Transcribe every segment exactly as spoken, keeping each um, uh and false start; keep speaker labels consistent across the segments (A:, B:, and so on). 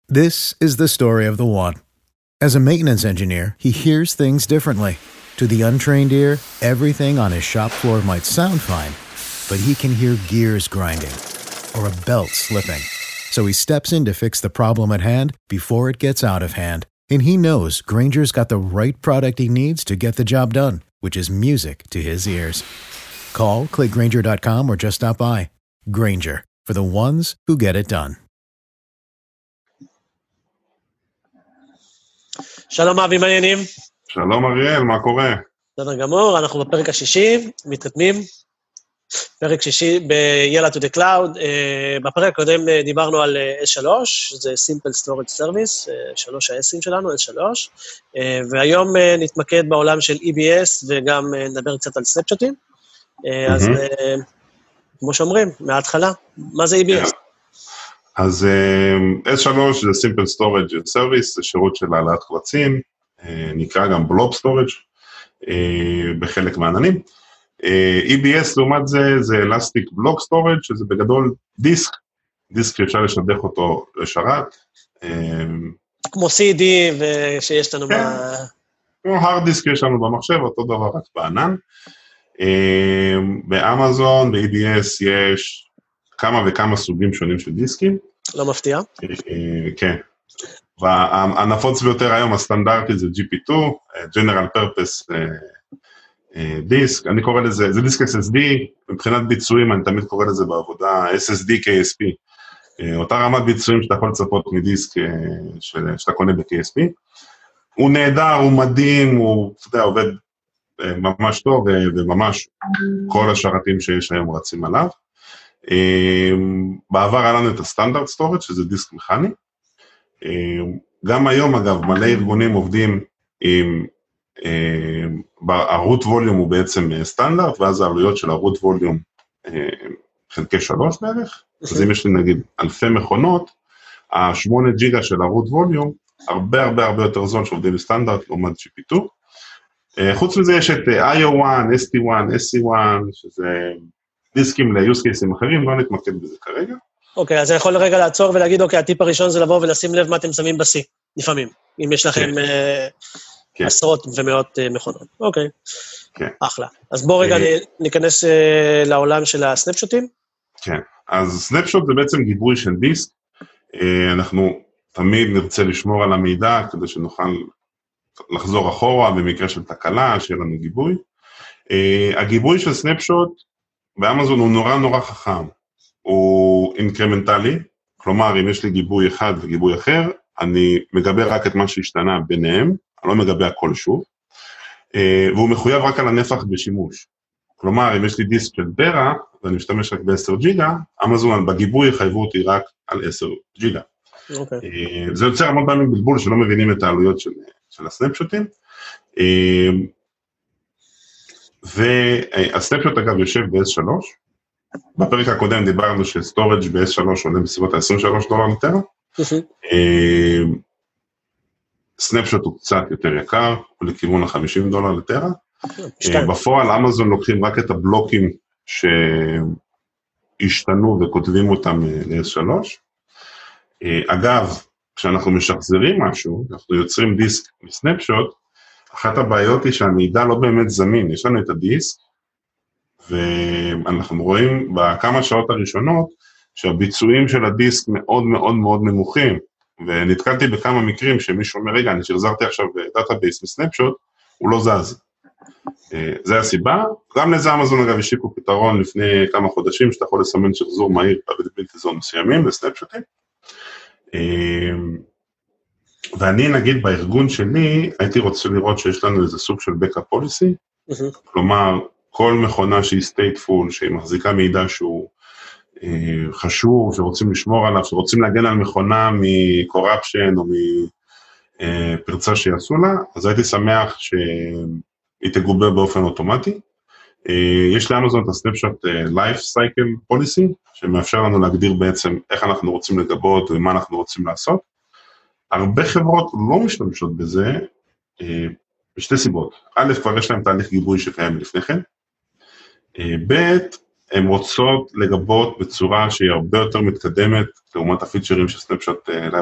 A: This is the story of the one. As a maintenance engineer, he hears things differently. To the untrained ear, everything on his shop floor might sound fine, but he can hear gears grinding or a belt slipping. So he steps in to fix the problem at hand before it gets out of hand. And he knows Grainger's got the right product he needs to get the job done, which is music to his ears. Call, click Grainger dot com or just stop by. Grainger, for the ones who get it done.
B: שלום אבי, מה העניינים?
C: שלום אריאל, מה קורה?
B: בסדר גמור, אנחנו בפרק השישי, מתקדמים. פרק שישי ב-Yalla to the Cloud. בפרק הקודם דיברנו על אס שלוש, זה Simple Storage Service, שלוש ה-S'ים שלנו, אס שלוש, והיום נתמקד בעולם של אי בי אס, וגם נדבר קצת על סנפשוטים. אז כמו שאומרים, מההתחלה, מה זה אי בי אס?
C: אז אס שלוש זה Simple Storage Service, זה שירות של העלאת קבצים, נקרא גם Blob Storage, בחלק מהעננים. אי בי אס לעומת זה, זה Elastic Block Storage, שזה בגדול דיסק, דיסק שאפשר לשדך אותו לשרת.
B: כמו סי די שיש לנו ב...
C: כמו hard disk יש לנו במחשב, אותו דבר רק בענן. באמזון, ב-אי בי אס יש כמה וכמה סוגים שונים של דיסקים.
B: לא מפתיע.
C: כן. והנפוץ ביותר היום, הסטנדרטי זה ג'י פי טו, General Purpose דיסק, אני קורא לזה, זה דיסק אס אס די, מבחינת ביצועים, אני תמיד קורא לזה בעבודה, אס אס די קי אס פי, אותה רמת ביצועים שאתה יכול לצפות מדיסק שאתה קונה ב-קי אס פי, הוא נהדר, הוא מדהים, הוא, אתה יודע, עובד ממש טוב, וממש כל השרתים שיש היום רצים עליו. בעבר היה לנו את הסטנדרט סטורג' שזה דיסק מכני, גם היום אגב מלא ארגונים עובדים עם, הרוט ווליום הוא בעצם סטנדרט, ואז העלויות של הרוט ווליום חלקי שלוש בערך, אז אם יש לי נגיד אלפי מכונות, השמונה ג'יגה של הרוט ווליום, הרבה הרבה הרבה יותר זול שעובדים בסטנדרט לעומת ג'י פי טו, חוץ מזה יש את איי או וואן, אס טי וואן, אס סי וואן, שזה דיסקים ל-use cases אחרים, לא נתמקד בזה כרגע.
B: אוקיי, אז אני יכול רגע לעצור ולהגיד, אוקיי, הטיפ הראשון זה לבוא ולשים לב מה אתם שמים ב-C, לפעמים, אם יש לכם עשרות ומאות מכונות. אוקיי, אחלה. אז בואו רגע ניכנס לעולם של הסנפשוטים.
C: כן, אז סנפשוט זה בעצם גיבוי של דיסק, אנחנו תמיד נרצה לשמור על המידע, כדי שנוכל לחזור אחורה במקרה של תקלה, שיהיה לנו גיבוי. הגיבוי של סנפשוט באמזון הוא נורא נורא חכם, הוא אינקרמנטלי, כלומר אם יש לי גיבוי אחד וגיבוי אחר, אני מגבה רק את מה שהשתנה ביניהם, אני לא מגבה הכל שוב, והוא מחויב רק על הנפח בשימוש. כלומר אם יש לי דיסק של טרה, ואני משתמש רק ב-עשר ג'יגה, אמזון בגיבוי יחייבו אותי רק על עשר ג'יגה. Okay. זה יוצר המון פעמים בלבול שלא מבינים את העלויות של, של הסנפשוטים, והסנפשוט אגב יושב ב-אס שלוש, בפרק הקודם דיברנו שסטורג' ב-אס שלוש עולה בסביבות ה-עשרים ושלושה דולר לטרה, סנפשוט הוא קצת יותר יקר, הוא לכיוון ה-חמישים דולר לטרה, בפועל אמזון לוקחים רק את הבלוקים שהשתנו וכותבים אותם ל-אס שלוש, אגב, כשאנחנו משחזרים משהו, אנחנו יוצרים דיסק מסנפשוט, אחת הבעיות היא שהמידע לא באמת זמין, יש לנו את הדיסק, ואנחנו רואים בכמה שעות הראשונות, שהביצועים של הדיסק מאוד מאוד מאוד נמוכים, ונתקלתי בכמה מקרים שמישהו אומר, רגע, אני שחזרתי עכשיו דאטאבייס מסנפשוט, הוא לא זז. זה הסיבה, גם לזה אמזון אגב השיקו פתרון לפני כמה חודשים, שאתה יכול לסמן שחזור מהיר בבלתי זון מסוימים לסנפשוטים, ואני נגיד בארגון שלי, הייתי רוצה לראות שיש לנו איזה סוג של backup policy, כלומר, כל מכונה שהיא stateful, שהיא מחזיקה מידע שהוא חשוב, שרוצים לשמור עליו, שרוצים להגן על מכונה מ-corruption או מפרצה שיעשו לה, אז הייתי שמח שהיא תגובה באופן אוטומטי. יש לאמזון את הסנפשוט life cycle policy, שמאפשר לנו להגדיר בעצם איך אנחנו רוצים לגבות ומה אנחנו רוצים לעשות. הרבה חברות לא משתמשות בזה, בשתי סיבות. א', כבר יש להם תהליך גיבוי שקיים לפני כן. ב', הן רוצות לגבות בצורה שהיא הרבה יותר מתקדמת, לעומת הפיצ'רים של סנפשוט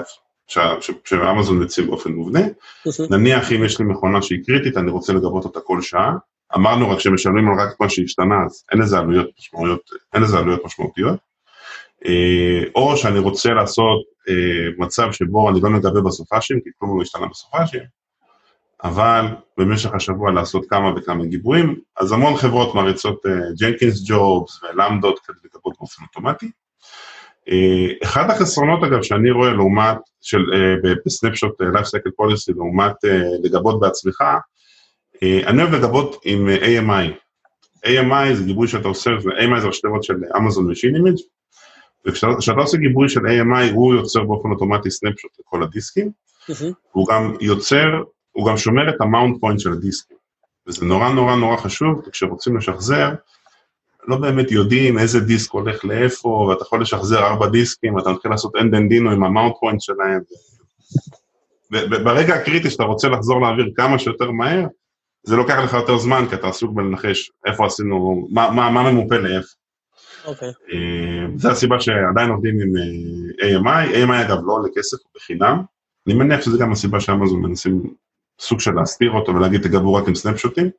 C: שאמזון מציב באופן מובנה, נניח אם יש לי מכונה שהיא קריטית, אני רוצה לגבות אותה כל שעה, אמרנו רק שמשלמים על רק מה שהשתנה, אז אין לזה עלויות משמעותיות, אין לזה עלויות משמעותיות, או שאני רוצה לעשות מצב שבו אני לא מגבה בסופאשים, כי כלום לא השתנה בסופאשים, אבל במשך השבוע לעשות כמה וכמה גיבויים, אז המון חברות מריצות ג'נקינס ג'ובס ולמדות כדי לגבות באופן אוטומטי. אחד החסרונות אגב שאני רואה לעומת, של, בסנפשוט Life Cycle Policy, לעומת לגבות בעצמך, אני אוהב לגבות עם איי אם איי. איי אם איי זה גיבוי שאתה עושה, איי אם איי זה השתבות של Amazon Machine Image, וכשאתה עושה גיבוי של איי אם איי, הוא יוצר באופן אוטומטי סנפשוט לכל הדיסקים, הוא גם יוצר, הוא גם שומר את המאונט פוינט של הדיסקים, וזה נורא נורא נורא חשוב, כשרוצים לשחזר, לא באמת יודעים איזה דיסק הולך לאיפה, ואתה יכול לשחזר ארבע דיסקים, ואתה מתחיל לעשות אנדנדינו עם המאונט פוינט שלהם, וברגע הקריטי שאתה רוצה לחזור להעביר כמה שיותר מהר, זה לוקח לך יותר זמן, כי אתה עסוק בלנחש איפה עשינו, מה, מה, מה ממופה לאיפה.
B: אוקיי.
C: זו הסיבה שעדיין עובדים עם איי אם איי, איי אם איי אגב לא עולה כסף בחינם, אני מניח שזה גם הסיבה שאמזון מנסים סוג של להסתיר אותו ולהגיד תגבו רק עם סנפשוטים.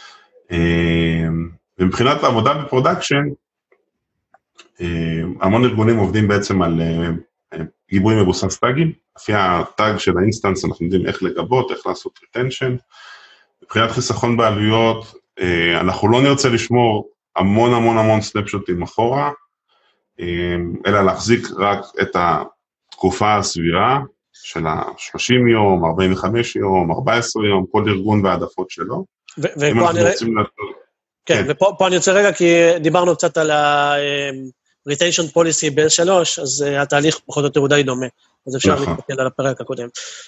C: ומבחינת העבודה בפרודקשן, המון ארגונים עובדים בעצם על גיבוי מבוסס טאגים, לפי הטאג של האינסטנס אנחנו יודעים איך לגבות, איך לעשות ריטנשן, מבחינת חיסכון בעלויות, אנחנו לא נרצה לשמור המון המון המון סנפשוטים אחורה, אלא להחזיק רק את התקופה הסבירה של ה-שלושים יום, ארבעים וחמישה יום, ארבע עשרה יום, כל ארגון והעדפות שלו.
B: ופה אני רוצים... כן, ופה אני רוצה רגע, כי דיברנו קצת על ה-retention policy ב-אס שלוש, אז התהליך פחות או יותר הוא די דומה, אז אפשר להתפקד על הפרק הקודם.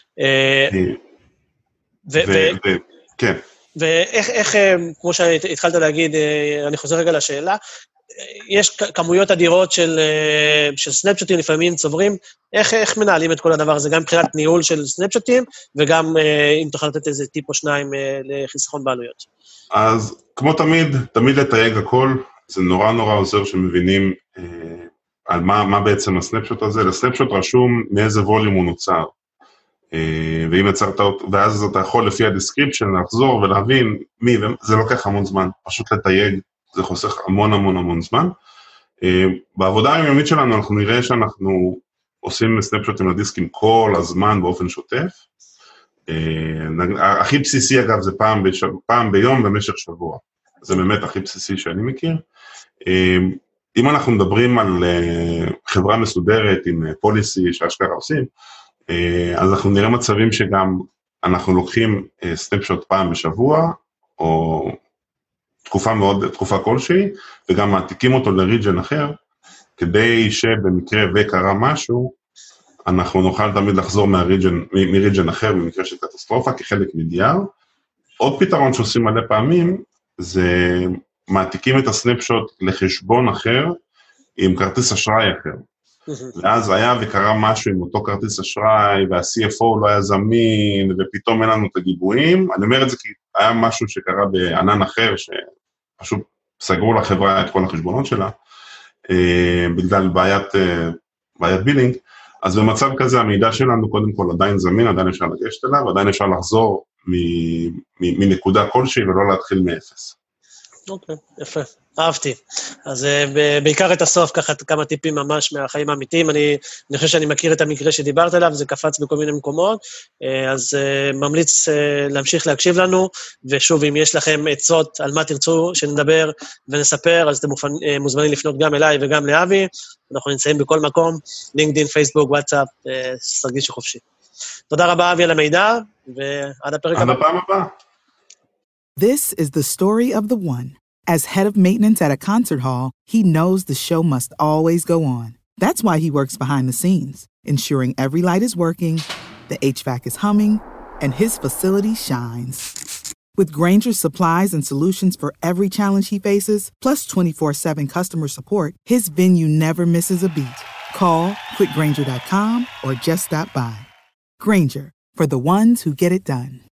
C: כן.
B: ואיך, כמו שהתחלת להגיד, אני חוזר רגע לשאלה, יש כמויות אדירות של, של סנפשוטים, לפעמים צוברים, איך, איך מנהלים את כל הדבר הזה, גם מבחינת ניהול של סנפשוטים, וגם אם תוכל לתת איזה טיפ או שניים לחיסכון בעלויות.
C: אז כמו תמיד, תמיד לתייג הכל, זה נורא נורא עוזר שמבינים אה, על מה, מה בעצם הסנפשוט הזה, לסנפשוט רשום מאיזה ווליום הוא נוצר, אה, ואם יצרת אותו, ואז אתה יכול לפי הדיסקריפשן לחזור ולהבין מי, וזה לוקח המון זמן, פשוט לתייג, זה חוסך המון המון המון זמן. אה, בעבודה היומית שלנו אנחנו נראה שאנחנו עושים סנפשוטים לדיסקים כל הזמן באופן שוטף, הכי בסיסי אגב זה פעם, בשב... פעם ביום במשך שבוע, זה באמת הכי בסיסי שאני מכיר. אם אנחנו מדברים על חברה מסודרת עם פוליסי שאשכרה עושים, אז אנחנו נראה מצבים שגם אנחנו לוקחים סנפשוט פעם בשבוע, או תקופה מאוד, תקופה כלשהי, וגם מעתיקים אותו לריג'ן אחר, כדי שבמקרה וקרה משהו, אנחנו נוכל תמיד לחזור מהריג'ן, מריג'ן אחר במקרה של קטסטרופה, כחלק מ-די אר. עוד פתרון שעושים מלא פעמים, זה מעתיקים את הסנפשוט לחשבון אחר, עם כרטיס אשראי אחר. ואז היה וקרה משהו עם אותו כרטיס אשראי, וה-סי אף או לא היה זמין, ופתאום אין לנו את הגיבויים. אני אומר את זה כי היה משהו שקרה בענן אחר, שפשוט סגרו לחברה את כל החשבונות שלה, בגלל בעיית, בעיית בילינג. אז במצב כזה המידע שלנו קודם כל עדיין זמין, עדיין אפשר לגשת אליו, עדיין אפשר לחזור מנקודה כלשהי ולא להתחיל מאפס.
B: אוקיי, יפה, אהבתי. אז בעיקר את הסוף, ככה כמה טיפים ממש מהחיים האמיתיים, אני, אני חושב שאני מכיר את המקרה שדיברת עליו, זה קפץ בכל מיני מקומות, אז ממליץ להמשיך להקשיב לנו, ושוב, אם יש לכם עצות על מה תרצו שנדבר ונספר, אז אתם מוזמנים לפנות גם אליי וגם לאבי, אנחנו נמצאים בכל מקום, לינקדין, פייסבוק, וואטסאפ, תרגישו חופשי. תודה רבה, אבי, על המידע, ועד הפרק הבא.
C: עד הפעם הבאה.
D: This is the story of the one. As head of maintenance at a concert hall, he knows the show must always go on. That's why he works behind the scenes, ensuring every light is working, the H V A C is humming, and his facility shines. With Grainger's supplies and solutions for every challenge he faces, plus twenty-four seven customer support, his venue never misses a beat. Call quick grainger dot com or just stop by. Grainger, for the ones who get it done.